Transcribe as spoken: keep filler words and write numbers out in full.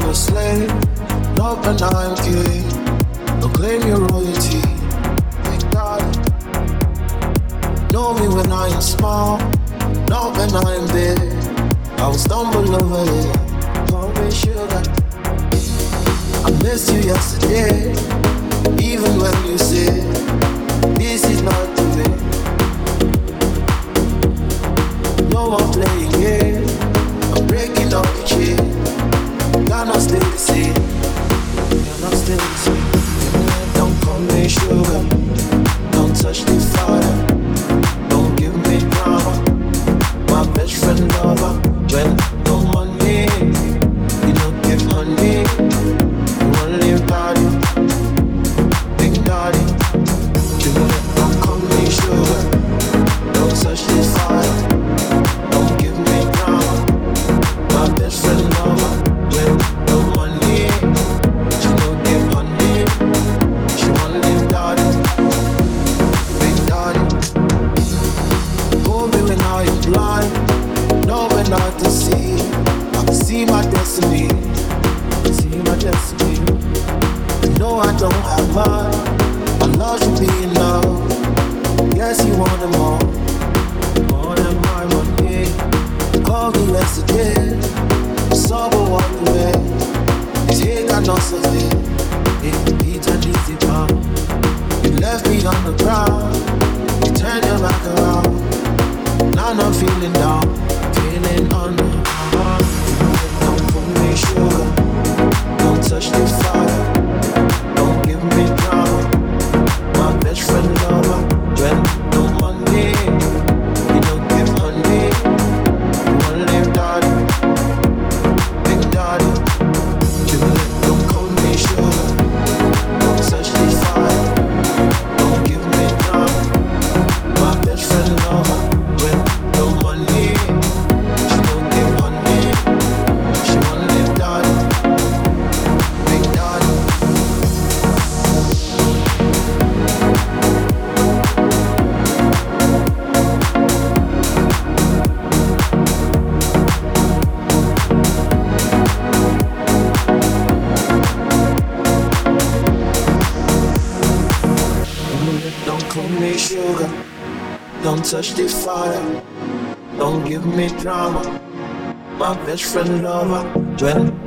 a slave, not when I'm king. Don't claim your royalty. Thank God. Know me when I am small, not when I am big. I will stumble over it. Call me sugar. I missed you yesterday, even when you said this is not the way. No one playing games. I'm breaking up the chain. Cannot stay the same. Cannot stay the same. Don't call me sugar. Don't touch the fire. Don't give me drama. My best friend lover. When no money, you don't give honey. You wanna live daddy, big daddy. Don't call me sugar. Don't touch the fire. Don't give me drama. My best friend lover. When no money, she don't give honey. She wanna live daddy, big daddy. Hold me when I am blind. Know when not to see. I can see my destiny. I can see my destiny. No, I don't have mine. My love should be enough. Yes, you want them all. More than my money. Call me yesterday. Sober walk away. His head got no survey. It beat and easy pound. You left me on the ground. You turned your back around. Now I'm feeling down. Feeling under. Don't put me sugar. Don't touch the fire. Don't give me drama. My best friend lover. When no money, you don't give honey. You wanna live daddy, big daddy. Don't call me sugar. Don't touch the fire. Don't give me drama. My best friend lover. When no money, she don't give honey. She wanna live daddy, big daddy. Don't call me sugar. Don't touch the fire. Don't give me drama. My best friend lover. When